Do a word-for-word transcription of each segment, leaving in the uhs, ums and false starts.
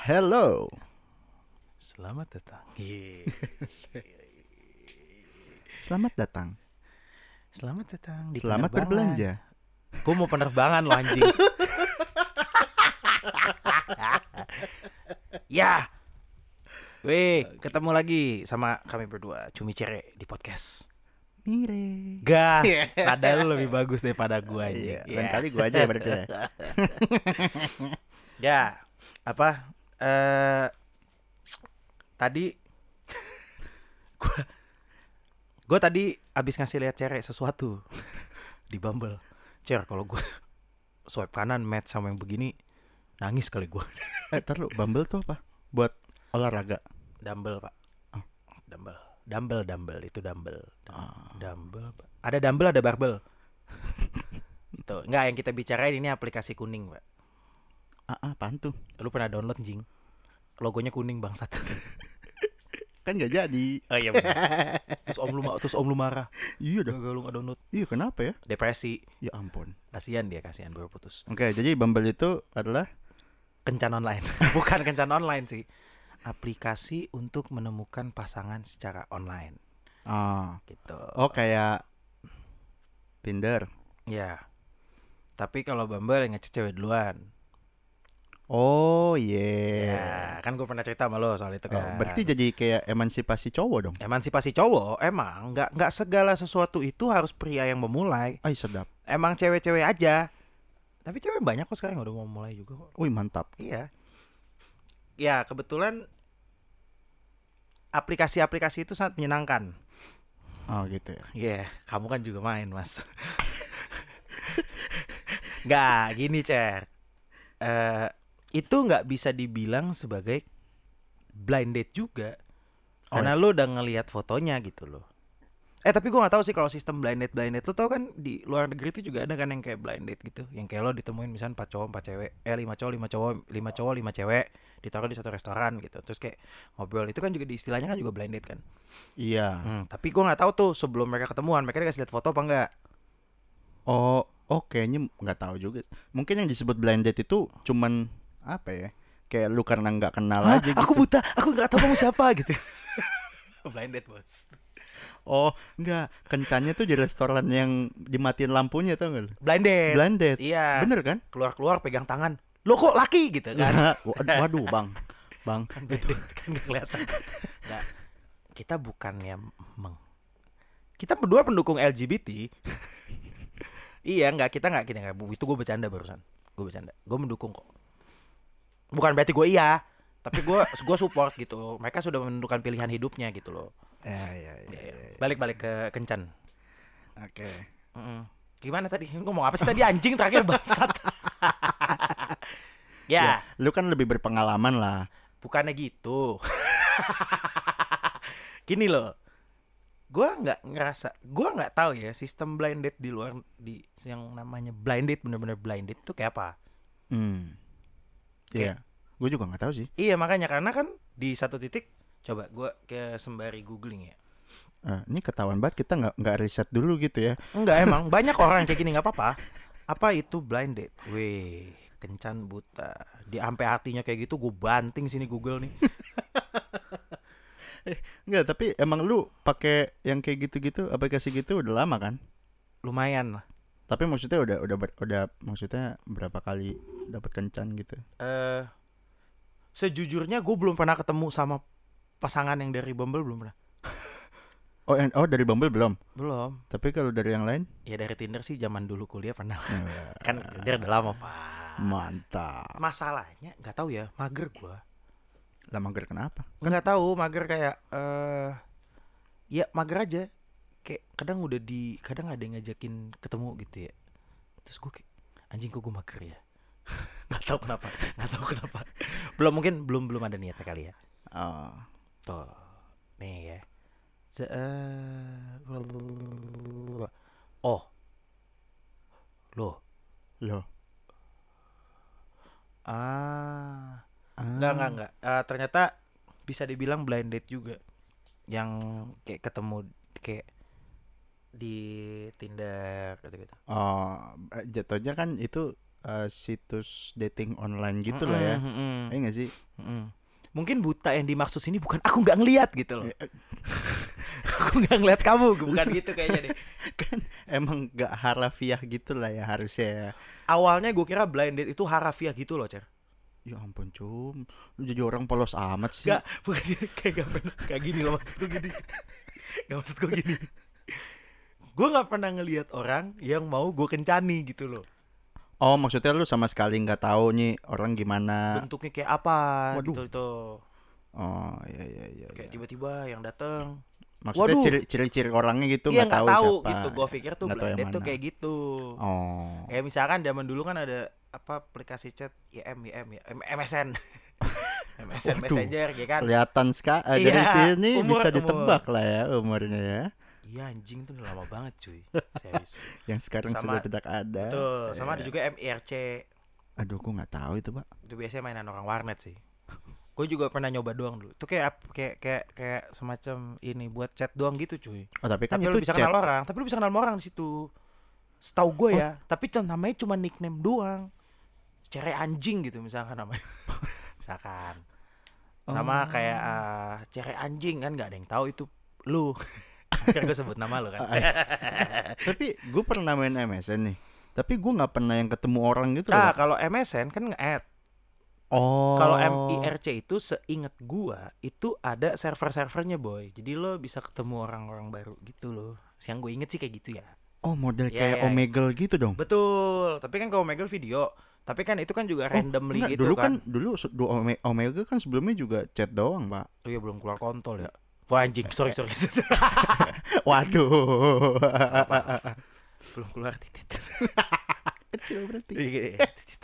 Hello. Selamat datang. Selamat datang. Selamat datang di Selamat penerbangan. berbelanja. Gue mau penerbangan lo anjing. Ya. Weh, ketemu lagi sama kami berdua, Cumi Cere di podcast. Mire. Gas. Nada lu lebih bagus daripada gue anjing. Iya, lain kali gue aja ya berarti ya. Ya, apa? Eh tadi gue gue tadi abis ngasih lihat Cere sesuatu di Bumble. Cer, kalau gue swipe kanan match sama yang begini, nangis kali gue. Eh, ntar lu, Bumble tuh apa? Buat olahraga. Dumbbell pak. Oh. Dumbbell, dumbbell, dumbbell itu dumbbell. Oh. Dumbbell. Ada dumbbell, ada barbell. Tuh, enggak, yang kita bicarain ini aplikasi kuning pak. Ah, apaan tuh? Lu pernah download jing? Logonya kuning bangsat. Kan gak jadi. Oh iya benar. Terus om lu terus om lu marah. Iya dah. Gagal lu nggak download. Iya, kenapa ya? Depresi. Ya ampun. Kasihan dia, kasihan baru putus. Oke, jadi Bumble itu adalah Kencan online. Bukan kencan online sih. Aplikasi untuk menemukan pasangan secara online. ah. Gitu. Oh, kayak Tinder. Ya. Tapi kalau Bumble yang ngechat cewek duluan. Oh, iya. Ya, kan gue pernah cerita sama lo soal itu Oh, kan. berarti jadi kayak emansipasi cowok dong. Emansipasi cowok emang nggak nggak segala sesuatu itu harus pria yang memulai. Ay, sedap. Emang cewek-cewek aja. Tapi cewek banyak kok sekarang udah mau mulai juga kok. Wih, mantap. Iya. Ya, kebetulan aplikasi-aplikasi itu sangat menyenangkan. Oh, gitu ya. Iya, yeah, kamu kan juga main, Mas. Nggak, gini, Cer. Eh, itu nggak bisa dibilang sebagai blind date juga. Oh, Karena ya? lu udah ngelihat fotonya gitu loh. Eh tapi gue nggak tahu sih kalau sistem blind date blind date. Lu tau kan di luar negeri itu juga ada kan yang kayak blind date gitu, yang kayak lo ditemuin misalnya empat cowok empat cewek, eh lima cowok lima cowok lima cowok lima cewek, ditaruh di satu restoran gitu, terus kayak ngobrol. Itu kan juga di istilahnya kan juga blind date kan. Iya. Hmm, tapi gue nggak tahu tuh sebelum mereka ketemuan mereka dikasih lihat foto apa enggak. Oh, oh kayaknya nggak tahu juga. Mungkin yang disebut blind date itu cuman apa ya? Kayak lu karena nggak kenal Hah, aja gitu. aku buta, aku nggak tahu kamu siapa gitu. Blind date bos. Oh, enggak. Kencannya tuh di restoran yang dimatiin lampunya, tau nggak lu? Blind date. Blind date. Iya. Bener kan? Keluar-keluar pegang tangan. Lo kok laki gitu kan? Waduh, Bang. Bang, Kan itu kan nggak kelihatan. Nah, kita bukannya meng. Kita berdua pendukung L G B T. Iya, nggak kita nggak kita nggak. Itu gue bercanda barusan. Gue bercanda. Gue mendukung kok. Bukan berarti gue iya, tapi gue gue support gitu. Mereka sudah menentukan pilihan hidupnya gitu loh. ya, ya, ya, ya, ya. Balik-balik ke kencan. Oke. Mm-mm. Gimana tadi? Ngomong apa sih tadi anjing terakhir bangsat? Ya, Ya, lu kan lebih berpengalaman lah. bukannya gitu. Gini loh. Gua nggak ngerasa, gua nggak tahu ya sistem blind date di luar di yang namanya blind date bener-bener blind date itu kayak apa? Hmm. Iya. Gue juga nggak tahu sih. Iya makanya karena kan di satu titik, coba gua ke sembari googling ya. Eh, ini ketahuan banget kita nggak nggak riset dulu gitu ya. Enggak emang banyak orang yang kayak gini nggak apa-apa. Apa itu blind date? Weh, kencan buta. Di sampai hatinya kayak gitu, gue banting sini Google nih. Enggak, tapi emang lu pakai yang kayak gitu-gitu aplikasi gitu udah lama kan? Lumayan lah. Tapi maksudnya udah udah ber- udah maksudnya berapa kali dapat kencan gitu? Eh, sejujurnya gue belum pernah ketemu sama pasangan yang dari Bumble, belum pernah. Oh, en- oh dari Bumble belum. Belum. Tapi kalau dari yang lain? Ya dari Tinder sih zaman dulu kuliah pernah. Ya, Kan Tinder udah lama pak. mantap. Masalahnya nggak tahu ya, mager gue. Lah mager kenapa? Nggak tahu mager kayak eh ya mager aja. Kayak kadang udah di kadang ada yang ngajakin ketemu gitu ya. Terus gue kayak anjing kok gue mager ya. Nggak tahu kenapa, nggak tahu kenapa. Belum mungkin belum belum ada niatnya kali ya. Oh. Tuh nih ya. Se- eh, oh loh Loh. ah Ah. Enggak, enggak, enggak. Eh, ternyata bisa dibilang blind date juga. Yang kayak ketemu kayak di Tinder gitu-gitu. Oh, eh, jatuhnya kan itu uh, situs dating online gitu lah ya. Mm-mm, Iya nggak sih? mm-mm. Mungkin buta yang dimaksud sini bukan aku nggak ngelihat gitu loh. Aku nggak ngelihat kamu, bukan gitu kayaknya deh. Kan emang nggak harafiah gitu lah ya harusnya ya. Awalnya gue kira blind date itu harafiah gitu loh, Cer. Ya ampun cum, lu jadi orang polos amat sih. Gak, bukan kayak gak pernah kayak gini loh, maksud gue gini. Gak maksud gue gini. Gue nggak pernah ngelihat orang yang mau gue kencani gitu loh. Oh maksudnya lu sama sekali nggak tahu nih orang gimana. Bentuknya kayak apa. Waduh. Gitu itu. Oh iya iya iya. Kayak iya. tiba-tiba yang datang. Maksudnya Waduh. ciri- ciri-ciri orangnya gitu Iya nggak nggak tahu, tahu siapa. gitu. Gue pikir tuh Nggak tahu blind yang date tuh mana. kayak gitu. Oh. Kayak misalkan zaman dulu kan ada apa aplikasi chat I M I M ya M- MSN. MSN Waduh. Messenger ya kan. Kelihatan sekali Iya, dari sini umur- bisa umur. ditebak lah ya umurnya ya. Iya anjing tuh udah lama banget cuy. Serius. Yang sekarang Sama- sudah tidak ada. Betul. Sama ada Eh, juga M I R C. Aduh, gue nggak tahu itu pak. Itu biasanya mainan orang warnet sih. Gue juga pernah nyoba doang dulu. Itu kayak ap- kayak kayak kayak semacam ini buat chat doang gitu cuy. Oh tapi kan Tapi itu lu bisa chat. kenal orang, tapi lu bisa kenal orang di situ. Setahu gue ya, tapi tuh namanya cuma nickname doang. Cere anjing gitu misalkan namanya. Misalkan. Sama Oh. kayak uh, cere anjing kan nggak ada yang tahu itu lu. Akhirnya gue sebut nama lu kan. Tapi gue pernah main M S N nih. Tapi gue nggak pernah yang ketemu orang gitu Nah, loh, Pak. kalau M S N kan nge-add. Oh. Kalau M I R C itu seingat gua itu ada server-servernya boy. Jadi lo bisa ketemu orang-orang baru gitu loh. Yang gue inget sih kayak gitu ya. Oh model Ya, kayak ya, ya. Omegle gitu dong. Betul. Tapi kan kalau Omegle video. Tapi kan itu kan juga randomly Enggak, gitu dulu kan. kan dulu se- du- Ome- Omega kan sebelumnya juga chat doang, Pak. Oh iya belum keluar kontol ya. Wah anjing, sorry sorry. Waduh. Belum keluar titit. Kecil berarti. Iya.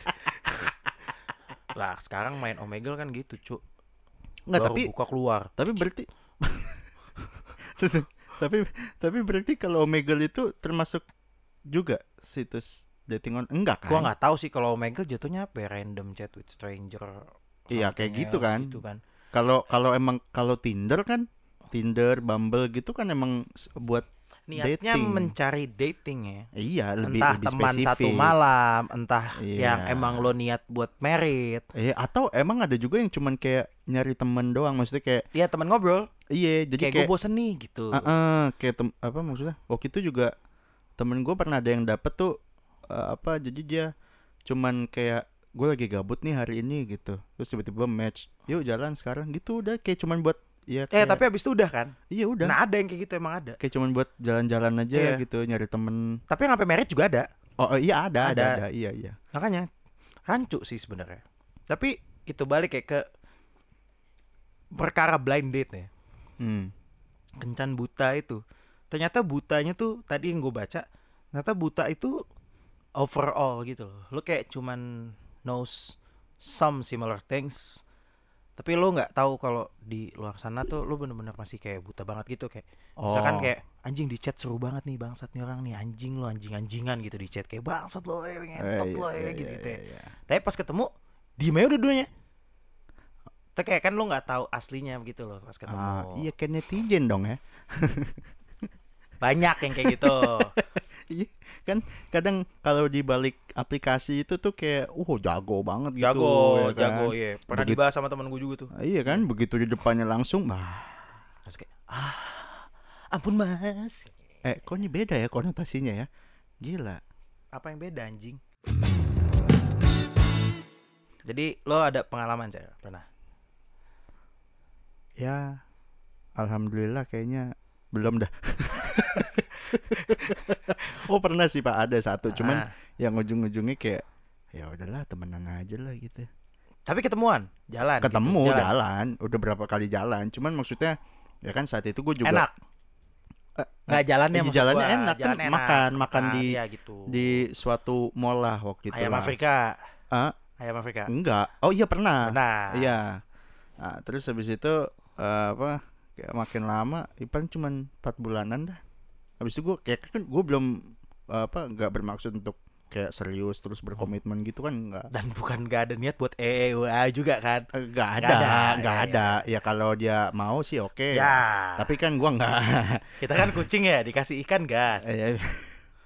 Lah sekarang main Omegle kan gitu cu. Enggak, Baru tapi buka keluar. tapi berarti Terus, tapi tapi berarti kalau Omegle itu termasuk juga situs dating on enggak kan? Gua nggak tahu sih kalau Omegle jatuhnya apa ya, random chat with stranger. Iya, kayak something gitu else kan. Gitu kan. Kalau kalau emang kalau Tinder kan Tinder, Bumble gitu kan emang s- buat Niatnya dating. mencari dating ya. Iya, lebih Entah lebih teman spesifik. satu malam, entah Iya. yang emang lo niat buat merit. Eh atau emang ada juga yang cuman kayak nyari temen doang, maksudnya kayak Ya teman ngobrol. iya, jadi Kayak gue kayak bosen nih gitu. uh-uh, kayak tem- apa maksudnya? Waktu itu juga temen gue pernah ada yang dapet tuh uh, apa jadi dia cuman kayak gue lagi gabut nih hari ini gitu, terus tiba-tiba match, yuk jalan sekarang gitu, udah kayak cuman buat ya Eh kayak, tapi abis itu udah kan. iya udah Nah ada yang kayak gitu emang ada. kayak cuman buat jalan-jalan aja Iya. gitu, nyari temen. Tapi yang sampai merit juga ada. Oh, oh, iya ada, ada Ada. ada iya iya. Makanya rancu sih sebenarnya. Tapi itu balik kayak ke perkara blind date ya. Hmm. Kencan buta itu. Ternyata butanya tuh tadi yang gue baca, ternyata buta itu overall gitu loh. Lu kayak cuman knows some similar things. Tapi lu nggak tahu kalau di luar sana tuh lu bener-bener masih kayak buta banget gitu, kayak misalkan Oh. kayak anjing di chat seru banget nih bangsat nih orang nih, anjing lo anjing-anjingan gitu di chat kayak bangsat lo eh, Eh, ngentot iya, lo iya, eh, gitu, iya, gitu ya. iya. Tapi pas ketemu diem aja udah-duanya. Tapi kayak kan lu nggak tahu aslinya gitu loh pas ketemu. Ah, iya kayak netizen dong ya. Banyak yang kayak gitu. Iya, kan kadang kalau di balik aplikasi itu tuh kayak uh jago banget gitu. Jago, ya kan? jago iya. Pernah Begitu- dibahas sama temen gue juga tuh. Ah, iya kan, begitu di depannya langsung, bah. Terus kayak ah, ampun mas. Eh, kok ini beda ya konotasinya ya? Gila. Apa yang beda anjing? Jadi lo ada pengalaman saya pernah? Ya, alhamdulillah kayaknya belum dah. Oh pernah sih Pak, ada satu, cuman Ah. yang ujung-ujungnya kayak ya udahlah temenan aja lah gitu. Tapi ketemuan, jalan. Ketemu gitu, jalan. udah berapa kali jalan, cuman maksudnya ya kan saat itu gue juga Enak. Eh, Nggak jalannya iya, maksud jalannya gua, enak, kan jalan enak. makan, makan Ah, di iya gitu. di suatu mall lah waktu itu Ayam lah. Afrika. Ah? Ayam Afrika. Enggak. Oh iya pernah. Benar. Iya. Nah, terus habis itu eh, apa? Kayak makin lama, Ipan cuman empat bulanan dah. Habis itu gue kayak kan gue belum eh, apa nggak bermaksud untuk kayak serius terus berkomitmen gitu kan enggak. Dan bukan nggak ada niat buat E E W A juga kan? Enggak Nggak ada, ada, enggak ya, ada. Ya kalau dia mau sih oke. Ya. Tapi kan gua enggak. Kita kan kucing ya, dikasih ikan gas. Eh,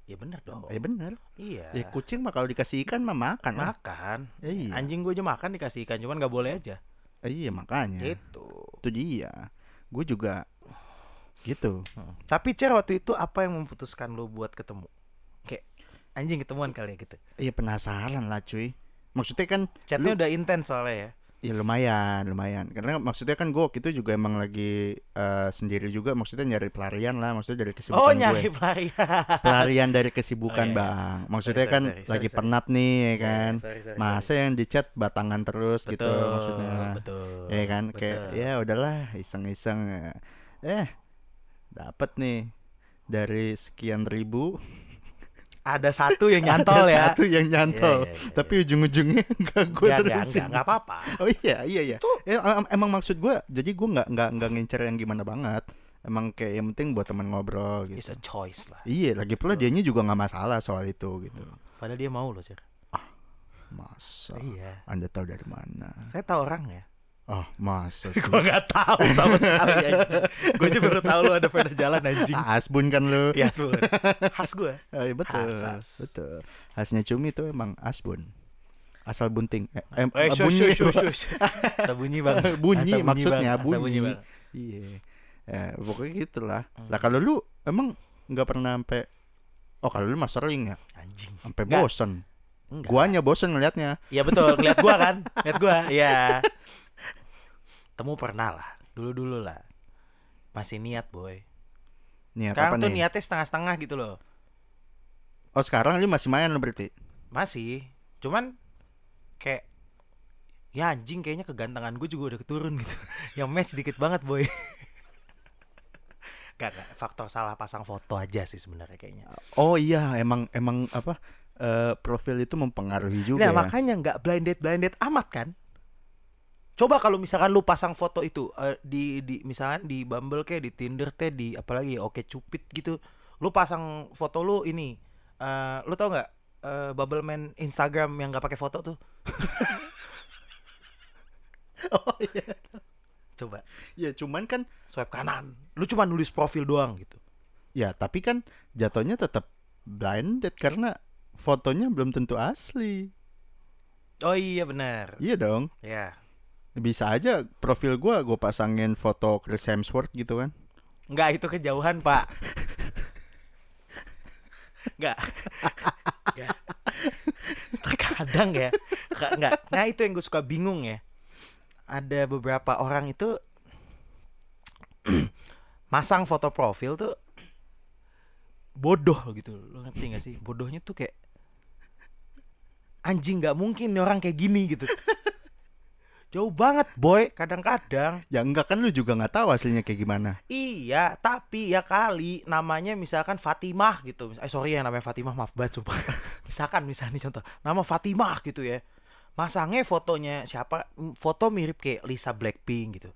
Ya bener dong. Ya bener. Iya. Ya kucing mah kalau dikasih ikan mah makan lah. Makan. Iya. Anjing gue aja makan dikasih ikan, cuman nggak boleh aja. Iya makanya. Gitu. Itu dia. Gue juga gitu. Hmm. Tapi Cer, waktu itu apa yang memutuskan lo buat ketemu? Kayak anjing ketemuan kali ya gitu. Iya penasaran lah cuy. Maksudnya kan Chatnya lu- udah intens soalnya ya. Ya lumayan, lumayan. Karena maksudnya kan gue waktu itu juga emang lagi eh, sendiri juga. Maksudnya nyari pelarian lah. Maksudnya dari kesibukan Oh gue. nyari pelarian. Pelarian dari kesibukan Oh, iya, iya. bang. Maksudnya Sorry, kan sorry, sorry, lagi sorry. penat nih ya kan. Sorry, sorry, Masa sorry. yang di chat batangan terus gitu Betul, maksudnya. betul. Ya kan kayak betul. ya udahlah iseng-iseng. Eh dapat nih dari sekian ribu Ada satu yang nyantol ada ya. satu yang nyantol. Iya, iya, iya, Tapi ujung-ujungnya enggak gue Enggak, enggak, terusin. enggak, enggak apa-apa. Oh iya iya iya. Ya, em- emang maksud gue, jadi gue nggak nggak nggak ngincer yang gimana banget. Emang kayak yang penting buat teman ngobrol It's gitu. a choice lah. Iya, lagi pula dianya juga nggak masalah soal itu gitu. Padahal dia mau loh, Cer. Masa? Iya. Anda tahu dari mana? Saya tahu orangnya. Oh masa sih? Gua enggak tahu sama sekali anjing. Gua aja baru tahu lu ada pernah jalan anjing. Ah, Asbun kan lu? Iya, Asbun. Khas gua. Oh, iya, betul, Khas, khas. betul. Khasnya cumi itu emang Asbun. Asal bunting. Eh, em, Eh, shush, bunyi. shush, shush, shush. Asa bunyi, Bang. Bunyi, Asa maksudnya, Bang. Asa bunyi. Bang. Iya. Ya, pokoknya gitulah. Hmm. Lah kalau lu emang nggak pernah sampai oh kalau lu mah sering ya Anjing. sampai Enggak. bosen. Enggak. Guanya bosen ngeliatnya. Iya betul, ngeliat gua kan. Ngeliat gua. Iya. Temu pernah lah. Dulu-dulu lah. Masih niat, boy. Niat Sekarang apa tuh nih? niatnya setengah-setengah gitu loh. Oh sekarang lu masih main lu berarti? Masih. Cuman kayak ya anjing kayaknya kegantengan gue juga udah keturun gitu. Yang match dikit banget, boy. Gak, gak, faktor salah pasang foto aja sih sebenarnya kayaknya. Oh iya emang emang apa eh, profil itu mempengaruhi juga Nah ya. makanya nggak blinded blinded amat kan. Coba kalau misalkan lu pasang foto itu eh, di di misalkan di Bumble kayak di Tinder teh di apalagi Oke Cupid gitu, lu pasang foto lu ini, eh, lu tau nggak eh, Bubble Man Instagram yang nggak pakai foto tuh? Oh iya. Coba Ya cuman kan swipe kanan, lu cuma nulis profil doang gitu. ya tapi kan jatuhnya tetap blinded karena fotonya belum tentu asli. Oh iya benar. Iya dong. Ya. Bisa aja profil gua gua pasangin foto Chris Hemsworth gitu kan. Enggak, itu kejauhan, Pak. Enggak. Ya. Terkadang ya. Ka- Enggak. Nah, itu yang gue suka bingung ya. Ada beberapa orang itu masang foto profil tuh bodoh gitu. Lo ngerti gak sih? Bodohnya tuh kayak anjing, nggak mungkin nih orang kayak gini gitu. Jauh banget, boy. Kadang-kadang. Ya enggak kan lu juga nggak tahu hasilnya kayak gimana. Iya, tapi ya kali namanya misalkan Fatimah gitu. Eh sorry ya namanya Fatimah, maaf banget sumpah. Misalkan misalnya nih contoh, nama Fatimah gitu ya. Masangnya fotonya siapa? M- Foto mirip kayak Lisa Blackpink gitu.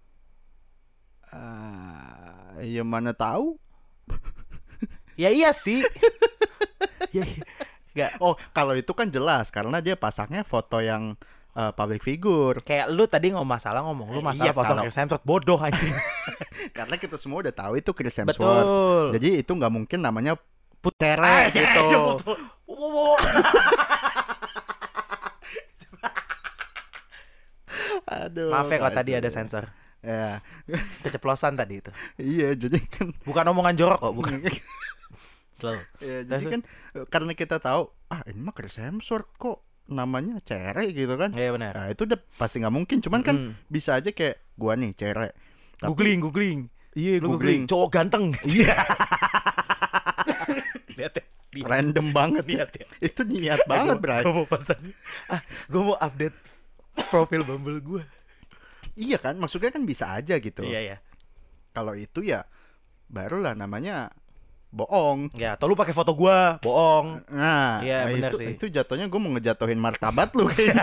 Ah, ya mana tahu. Ya iya sih. Ya, enggak. Oh, kalau itu kan jelas karena dia pasangnya foto yang eh, public figure. Kayak lu tadi ngomong masalah ngomong lu masalah Iya, foto kalau- Chris Hemsworth, bodoh anjing. Karena kita semua udah tahu itu Chris Hemsworth. Betul. Jadi itu nggak mungkin namanya Putere Putere gitu. Aduh. Maaf ya kalau tadi kasih. ada sensor. Ya, Keceplosan tadi itu. iya jadi kan Bukan omongan jorok kok, bukan. Slow. ya, jadi kan eh, karena kita tahu ah ini mah Chris Hemsworth kok namanya Cere gitu kan. Iya benar. Nah, itu udah pasti nggak mungkin. Cuman kan Mm. bisa aja kayak gua nih Cere. Tapi- Googling, googling. Iya, Lu googling. googling cowok ganteng. Iya. Lihat ya. Lihat. Random banget Lihat ya. Itu niat banget, Bray. Gue mau pasang. Ah, gue mau update profil Bumble gue. Iya kan, maksudnya kan bisa aja gitu. Iya ya. Kalau itu ya barulah namanya bohong. Ya, atau lu pakai foto gue, bohong. Nah, Iya, nah, benar itu sih. itu jatuhnya gue mau ngejatuhin martabat lu kayaknya.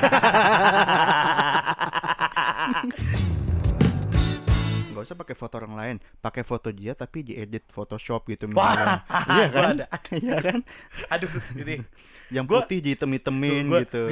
Gak usah pakai foto orang lain, pakai foto dia tapi diedit Photoshop gitu misalnya. Iya Gua kan? ada. Iya kan? Aduh, ini. Yang Gua- putih dihitam-hitamin Gua- gitu.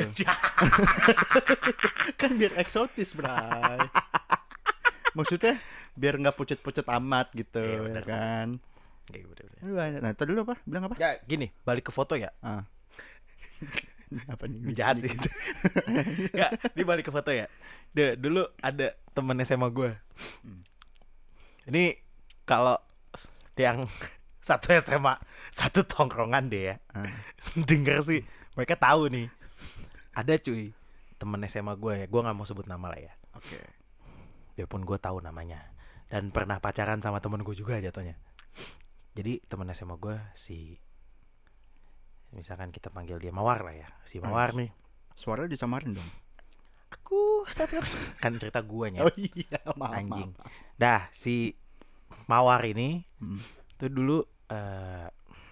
Kan biar eksotis, Bray. Maksudnya biar nggak pucet-pucet amat gitu, Iya, ya benar sih. kan? Kayak gitu, bener. Banyak. Nah, tadi lu apa? Bilang apa? Ya gini, balik ke foto ya. Ah. Apa nih? Ini jahat sih. Enggak, ini balik ke foto ya. Duh, dulu ada temen S M A gue. Hmm. Ini kalau yang satu S M A, satu tongkrongan deh ya. Ah. Denger sih, mereka tahu nih. Ada cuy, temen S M A gue ya. Gue nggak mau sebut nama lah ya. Oke. Okay. Biarpun gue tahu namanya dan pernah pacaran sama temen gue juga jatuhnya. Jadi temen S M A gue si, misalkan kita panggil dia Mawar lah ya, si Mawar nih. Suaranya disamarin dong. Aku kan cerita guanya. Oh iya, maaf, anjing. Maaf. Dah si Mawar ini Hmm. tuh dulu uh,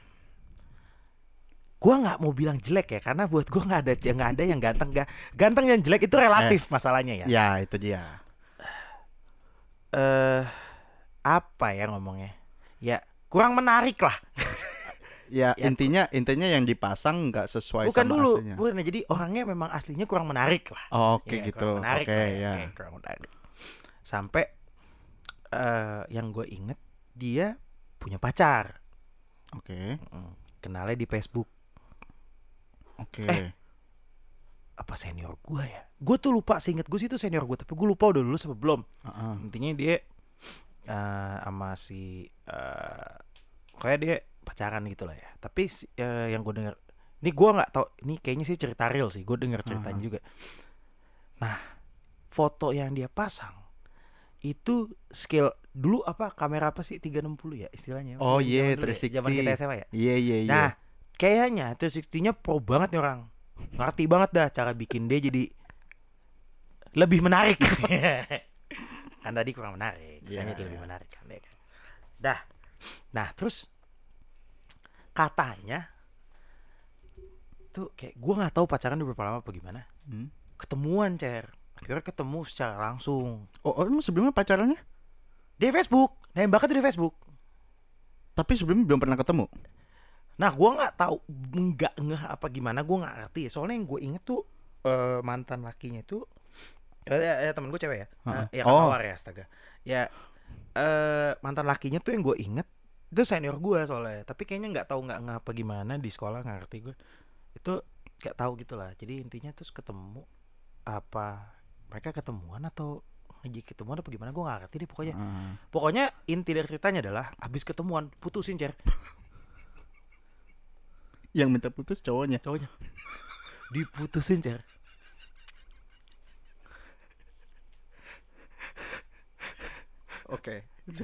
gua nggak mau bilang jelek ya, karena buat gua nggak ada nggak ada yang ganteng, gak ganteng dan jelek itu relatif eh, masalahnya ya. Ya itu dia. Eh uh, apa ya ngomongnya? Ya kurang menarik lah. Ya, ya intinya intinya yang dipasang nggak sesuai bukan sama dulu, aslinya. Bukan, jadi orangnya memang aslinya kurang menarik lah. Oh, oke okay, ya, gitu. Oke okay, ya. Okay, kurang menarik. Sampai uh, yang gue inget dia punya pacar. Oke. Okay. Kenalnya di Facebook. Oke. Eh, Okay. apa senior gue ya? Gue tuh lupa, seinget gue sih itu senior gue, tapi gue lupa udah lulus apa belum. Uh-uh. Intinya dia uh, sama si uh, kayak dia pacaran gitu lah ya. Tapi uh, yang gue dengar, ini gue nggak tahu, ini kayaknya sih cerita real sih. Gue dengar ceritanya uh-huh. juga. Nah, foto yang dia pasang itu skill dulu apa kamera apa sih tiga enam puluh ya istilahnya. Oh iya, yeah, tiga enam puluh. Zaman kita S M A ya. Iya iya iya. Nah, kayaknya tiga enam puluh-nya pro banget nih orang. Ngerti banget dah cara bikin dia jadi lebih menarik. Kan tadi kurang menarik, sekarang yeah, jadi lebih menarik kan. Dah. Nah, terus katanya tuh kayak gue nggak tahu pacaran udah berapa lama apa gimana. Hmm? Ketemuan, Cer. Akhirnya ketemu secara langsung. Oh, oh emang sebelumnya pacarannya? Di Facebook. Nembaknya tuh di Facebook. Tapi sebelumnya belum pernah ketemu. Nah, gue nggak tahu, nggak ngeh apa gimana, gue nggak ngerti. Soalnya yang gue inget tuh uh, mantan lakinya tuh, ya, ya, ya temen gue cewek ya, uh, ya kan Mawar ya, astaga. Ya uh, mantan lakinya tuh yang gue inget itu senior gue soalnya. Tapi kayaknya nggak tahu nggak ngeh apa gimana di sekolah, nggak ngerti gue. Itu nggak tahu gitulah. Jadi intinya terus ketemu apa mereka ketemuan atau lagi ketemuan apa gimana, gue nggak ngerti deh pokoknya. Uh. Pokoknya inti dari ceritanya adalah abis ketemuan putusin, Cer. Yang minta putus cowoknya. Cowoknya. Diputusin, Cer. Oke.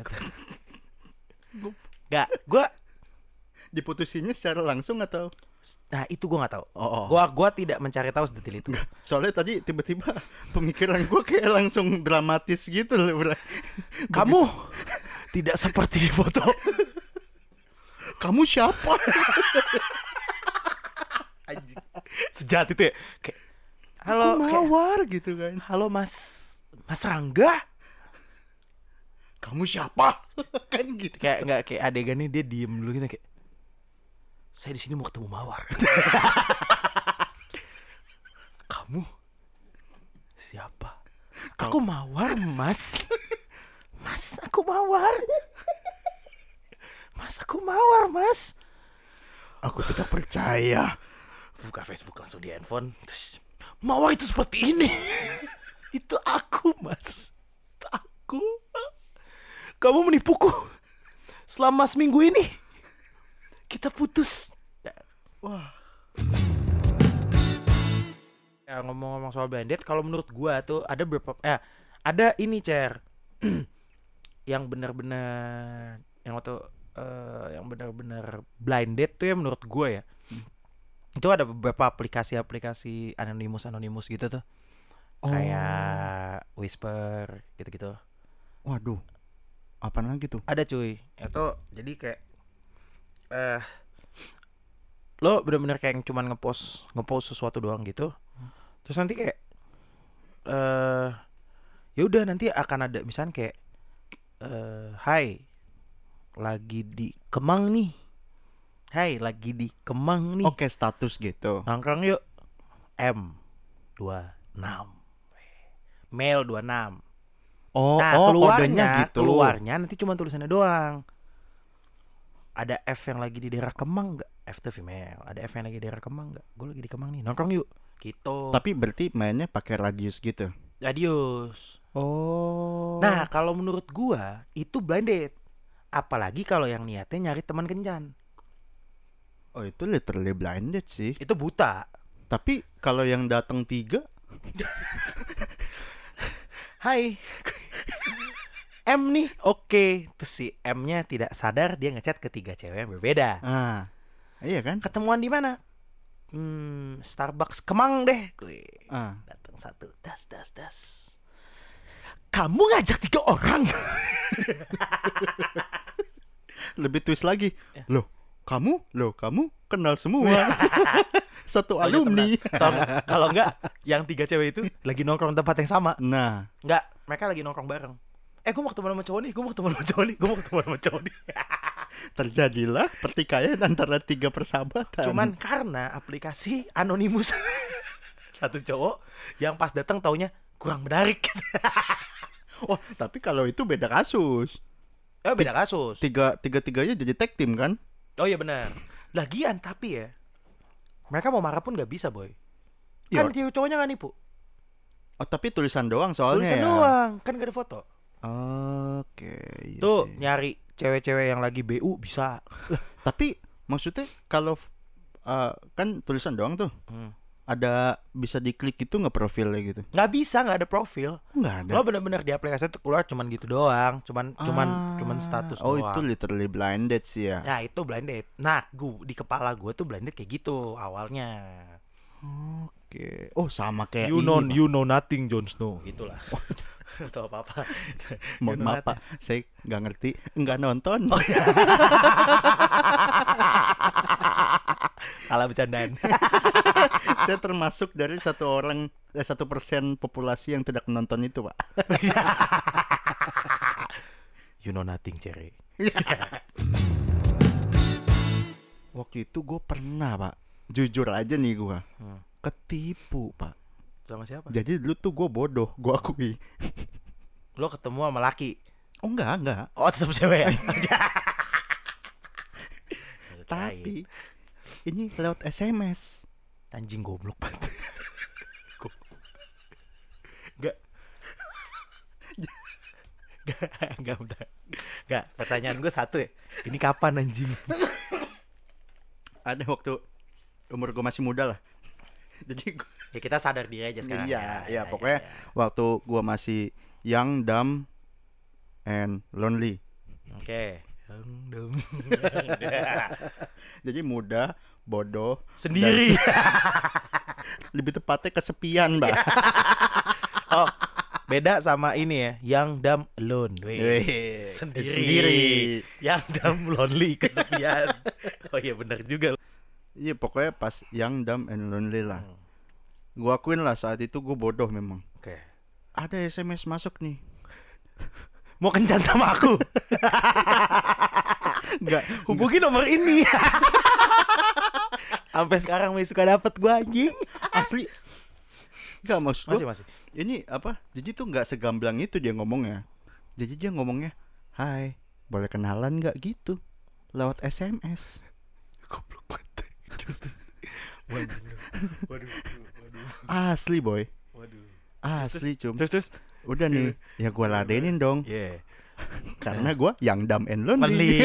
Gak, gue diputusinnya secara langsung atau? Nah itu gue nggak tahu. Oh, oh. Gue gue tidak mencari tahu sedetail itu. Soalnya tadi tiba-tiba pemikiran gue kayak langsung dramatis gitu loh, bro. Kamu tidak seperti di foto. Kamu siapa? Anjing. Sejahat itu ya. Kayak, halo, aku Mawar kayak, gitu kan. Halo Mas Mas Rangga. Kamu siapa? Kan gitu. Kayak nggak kayak adegannya dia diem dulu gitu kayak, saya di sini mau ketemu Mawar. Kamu siapa? Aku Mawar, Mas. Mas, aku Mawar. Mas, aku Mawar, Mas. Aku tidak percaya. Buka Facebook langsung di handphone. Mawar itu seperti ini. Itu aku, Mas. Itu aku. Kamu menipuku. Selama seminggu ini kita putus. Wah. Ya ngomong-ngomong soal blind date, kalau menurut gua tuh ada beberapa eh ada ini, Cer. Yang benar-benar yang waktu uh, yang benar-benar blind date tuh ya menurut gua ya. Hmm. Itu ada beberapa aplikasi-aplikasi anonimus-anonimus gitu tuh. Oh. Kayak Whisper gitu-gitu. Waduh. Apaan lagi tuh? Ada cuy. Itu jadi kayak eh uh, lo benar-benar kayak cuman ngepost ngepost sesuatu doang gitu. Hmm. Terus nanti kayak eh uh, ya udah nanti akan ada misalnya kayak eh uh, hai lagi di Kemang nih. Hai lagi di Kemang nih. Oke, status gitu. Nongkrong yuk. M dua puluh enam. Mail dua puluh enam. Oh, nah, oh keluarnya, kodenya gitu. Keluarnya nanti cuma tulisannya doang. ada F yang lagi di daerah Kemang nggak? F tuh female. Ada F yang lagi di daerah Kemang nggak? Gue lagi di Kemang nih, nongkrong yuk. Gitu. Tapi berarti mainnya pakai radius gitu. Radius. Oh. Nah, kalau menurut gua itu blind date. Apalagi kalau yang niatnya nyari teman kencan. Oh, itu literally blind date sih. Itu buta. Tapi kalau yang datang tiga, Hai. M nih, oke. Terus si M-nya tidak sadar dia ngechat ketiga cewek yang berbeda. ah, iya kan? Ketemuan di mana? Hmm, Starbucks Kemang deh. Gue Ah, datang satu, das das das. Kamu ngajak tiga orang? lebih twist lagi. Ya. Loh, kamu, loh kamu kenal semua. Satu Taunya alumni. temenan. Tau- Kalau enggak, yang tiga cewek itu lagi nongkrong tempat yang sama. Nah, Enggak, mereka lagi nongkrong bareng. Eh, gue mau ketemu sama cowok nih, gue mau ketemu sama cowok nih, gue mau ketemu sama cowok nih. terjadilah pertikaian antara tiga persahabatan. Cuman karena aplikasi anonimus. Satu cowok yang pas datang taunya kurang menarik. oh, tapi kalau itu beda kasus. Eh, beda kasus. Tiga tiga tiganya jadi tag team kan? Oh iya benar. Lagian tapi ya, mereka mau marah pun nggak bisa boy. Iya. Kan dia cowoknya nggak nipu. Oh, tapi tulisan doang soalnya Tulisan ya. doang, kan gak ada foto. Oke, iya Tuh sih. nyari cewek-cewek yang lagi B U bisa. Tapi maksudnya kalau uh, kan tulisan doang tuh, Hmm. ada bisa diklik gitu nggak profilnya gitu? Nggak bisa, nggak ada profil. Nggak ada. Lo bener-bener di aplikasi itu keluar cuman gitu doang, cuman cuman Ah, cuman status Oh, doang. itu literally blind date sih ya. Nah itu blind date. Nah gua, di kepala gue tuh blind date kayak gitu awalnya. Oke. Oh, sama kayak You ini, know Pak. you know nothing Jon Snow gitulah. Atau apa apa. Mohon maaf Pak, saya nggak ngerti, nggak nonton. Oh iya. Salah bercandaan. Saya termasuk dari satu orang, eh, satu persen populasi yang tidak menonton itu Pak. You know nothing Cherry. Waktu itu gue pernah Pak, jujur aja nih gue, Hmm. ketipu Pak. Sama siapa? Jadi dulu tuh gue bodoh, gue akui. Lo ketemu sama laki. Oh enggak, enggak. Oh tetap cewek ya. Tapi ini lewat S M S. Anjing goblok banget. Gak. Gak, gak, bentar. Gak, pertanyaan gue satu ya. Ini kapan anjing? Ada waktu umur gue masih muda lah. Jadi gua, Ya kita sadar diri aja sekarang. iya, ya, ya, pokoknya waktu gue masih young, dumb, and lonely. Oke. Yang dum. Jadi muda, bodoh, Sendiri. lebih tepatnya kesepian, Mbak. Oh, beda sama ini ya, yang dumb alone. Weh. Weh, Sendiri. sendiri. Yang dumb lonely kesepian. Oh iya benar juga. Iya, pokoknya pas young, dumb, and lonely lah. Hmm. Gue akuin lah saat itu gue bodoh memang. Oke. Ada S M S masuk nih. Mau kencan sama aku? Enggak, Hubungi nomor ini. Sampai sekarang masih suka dapet gua anjing. asli. Enggak, maksud gue Masih masih. ini apa? Jadi tuh nggak segamblang itu dia ngomongnya. Jadi dia ngomongnya, "Hai, boleh kenalan nggak?" gitu. Lewat S M S. Goblok banget. Terus terus. Waduh. Waduh. Waduh. Asli, boy. Waduh. Asli, cum. Terus terus. Udah nih, ya gue ladenin dong. Yeah. Karena gue yang dumb and Lonely. lonely.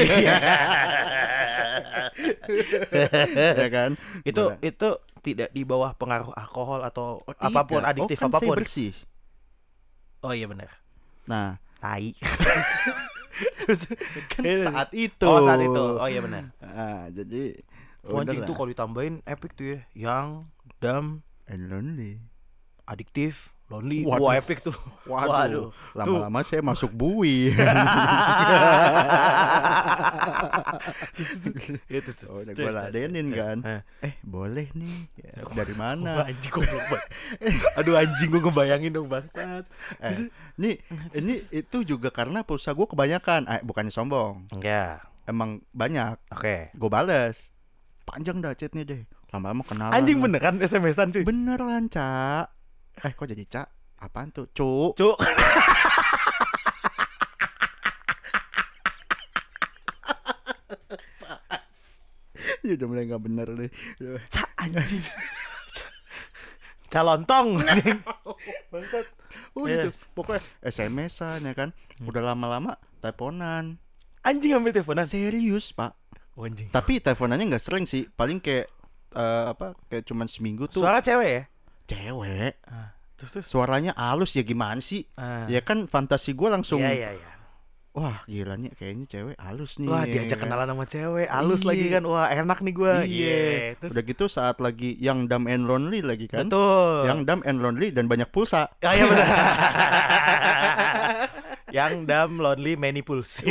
Ya kan? Itu Gua- itu tidak di bawah pengaruh alkohol atau Oh, apapun tidak. adiktif oh, kan saya apapun. bersih. Oh iya benar. Nah, Tai. Terus kan Eh, saat itu. Oh saat itu. Oh iya benar. Ah, jadi Anjing udah tuh lah. kalau ditambahin epic tuh ya. Yang dumb, And lonely. adiktif, lonely. Waduh. Wah epic tuh. Waduh, Waduh. lama-lama saya masuk bui. Itu Oh, udah gue ladenin kan. Eh, boleh nih. Ya, dari Wah, mana? anjing goblok banget. Aduh anjing gue ngebayangin dong bangsat. Eh, nih, ini itu juga karena pulsa gue kebanyakan. Eh, bukannya sombong. Ya, Emang banyak. oke. Gue bales. Panjang dah chatnya deh. Lama-lama kenalan. Anjing lah. beneran S M S-an cuy. Beneran, Cak. Eh, kok jadi Cak? Apaan tuh? Cuk. Cuk. Ya udah mulai nggak bener nih. Ca anjing. Calontong. Bangsat. Udah Iya. tuh, pokoknya S M S-an ya kan. Udah lama-lama teleponan. Anjing ambil teleponan. Serius, Pak. Oh, anjing. Tapi teleponannya nggak sering sih, paling kayak eh, apa? Kayak cuman seminggu tuh. Suara cewek ya? Cewek. Ah, terus terus. Suaranya halus ya gimana sih? Ah. Ya kan fantasi gue langsung. Iya iya iya. Wah gila nih kayaknya cewek halus nih. Wah, ya diajak kan? kenalan sama cewek, halus Iya. lagi kan. Wah, enak nih gua. Iya. Terus Udah gitu saat lagi yang dumb and lonely lagi kan. betul. Yang dumb and lonely dan banyak pulsa. Ya, iya benar. Yang dumb, lonely, many pools.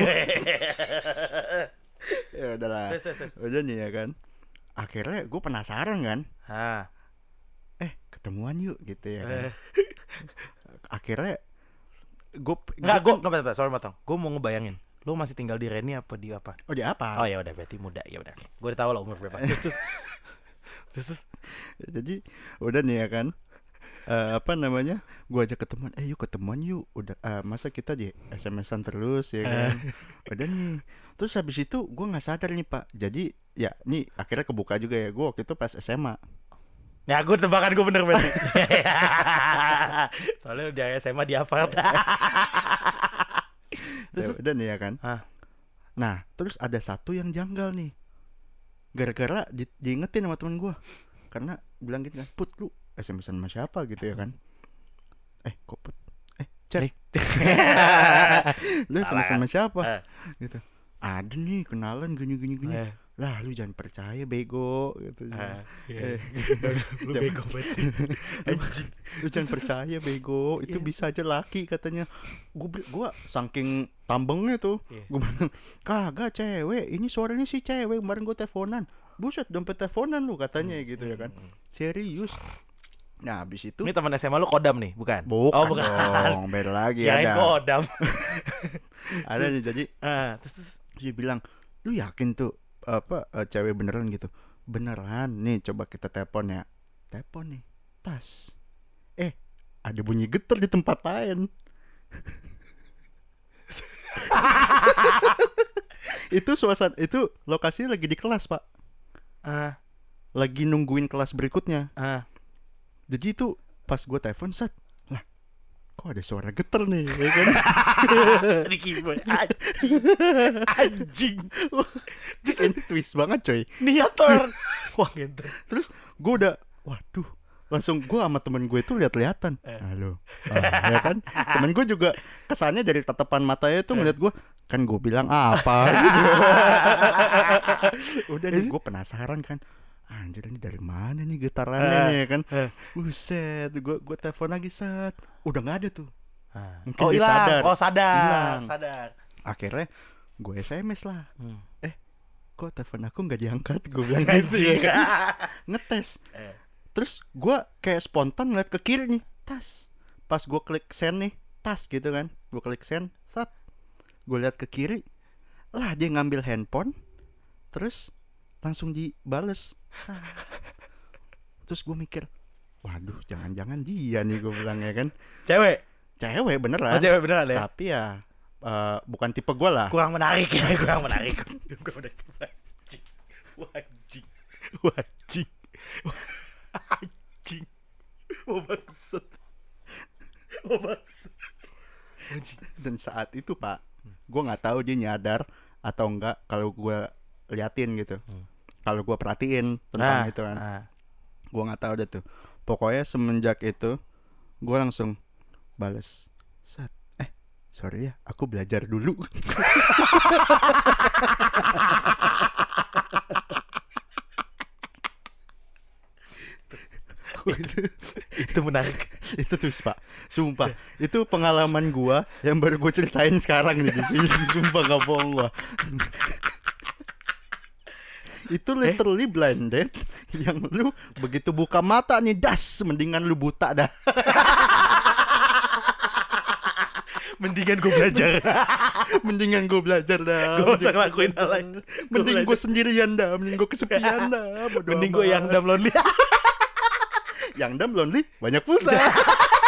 Ya udahlah. Terus terus terus. Udah nih ya kan. Akhirnya gue penasaran kan. Hah. Eh ketemuan yuk gitu ya kan. Eh. Akhirnya gue Enggak, gua enggak apa-apa, sorry motong. Gua mau ngebayangin. Lu masih tinggal di Reni apa di apa? Oh dia apa? Oh ya udah berarti muda. Ya udah. Gua udah tahu lah umur berapa. Terus terus terus, terus. Jadi udah nih ya kan. Eh, apa namanya? Gua ajak ketemuan. Eh yuk ketemuan yuk. Udah eh, masa kita di S M S-an terus ya kan. Udah nih. Terus habis itu gua nggak sadar nih Pak. Jadi ya nih akhirnya kebuka juga ya. Gua waktu itu pas S M A. Ya gue tebakan gue bener berarti. Soalnya di S M A di apart. Ya, udah nih ya kan. Hah? Nah terus ada satu yang janggal nih. Gara-gara di, diingetin sama teman gua. Karena bilang gitu kan, Put lu S M S-an sama siapa gitu ya kan. Eh kok Put? Eh cari. Lu S M S sama siapa? Eh. Gitu. Ada nih kenalan gini-gini gini. Eh. Lah lu jangan percaya bego gitu. Ah, Eh, iya. Lu jangan- bego banget sih. Anjing. Lu jangan percaya bego, itu Iya. bisa aja laki katanya. Gua bil- gua saking tambengnya tuh. Iya. Gua bilang, "Kagak cewek, ini suaranya si cewek, kemarin gua teleponan." Buset, dompet teleponan lu katanya gitu ya kan. Serius. Nah, habis itu Ini teman S M A lu kodam nih, bukan? bukan, Oh, bukan. dong, beda lagi Kirain ada. kodam. Ada nih jadi Ah, terus terus. dia bilang, "Lu yakin tuh apa eh, cewek beneran gitu?" Beneran. Nih coba kita telepon ya. Telepon nih. Tas. Eh, ada bunyi getar di tempat lain. Itu suasana itu lokasinya lagi di kelas, Pak. Ah, Lagi nungguin kelas berikutnya. ah. Jadi itu pas gue telepon set, lah kok ada suara getar nih, ya kan? Ricky Boy anjing. Anjing. Ini twist banget coy. Niator. Wah, gitu. Terus gue udah, waduh, langsung gue sama temen gue itu lihat-lihatan. Eh. Halo, ah, ya kan? Temen gue juga kesannya dari tatapan matanya tuh ngeliat gue, kan gue bilang apa? Gitu. Udah nih gue penasaran kan. Anjir ini dari mana nih getarannya Eh. nih ya kan? Eh. Buset, gue gue telepon lagi set, udah nggak ada tuh. Ah. Mungkin Oh, dia hilang. sadar. Oh, sadar. Hilang. Sadar. Akhirnya gue S M S lah. Hmm. Kok telepon aku nggak diangkat? Gue bilang gitu ya kan. Ngetes. Eh. Terus gue kayak spontan ngeliat ke kiri nih, tas. Pas gue klik send nih, tas gitu kan. Gue klik send, sat. Gue lihat ke kiri, lah dia ngambil handphone, terus langsung dibales. Sat. Terus gue mikir, waduh, jangan-jangan dia nih, gue bilang ya kan. Cewek. Cewek Oh, beneran. cewek beneran ya? Tapi ya eh, bukan tipe gue lah. Kurang menarik ya, kurang menarik. Kurang menarik. Wajing. Wajing. Wajing. Anjing. Oh, maksud. Oh, maksud. Dan saat itu Pak, gue nggak tahu dia nyadar atau enggak kalau gue liatin gitu. Hmm. Kalau gue perhatiin tentang Nah, itu kan, ah. gue nggak tahu deh tuh. Pokoknya semenjak itu, gue langsung bales. Sat, eh sorry ya, aku belajar dulu. itu, Itu menarik. itu tuh Pak, sumpah. Itu pengalaman gue yang baru gue ceritain sekarang nih di sini. Sumpah nggak bohong gue. Itu literally blind date yang lu begitu buka mata nih das, mendingan lu buta dah. Mendingan gue belajar. Mendingan gue belajar dah. Gue usah ngelakuin hal lain. Mending gue sendirian dah, mending gue kesepian dah. Bodo Mending gue amat. yang dam lonely. Yang dam lonely banyak pulsa.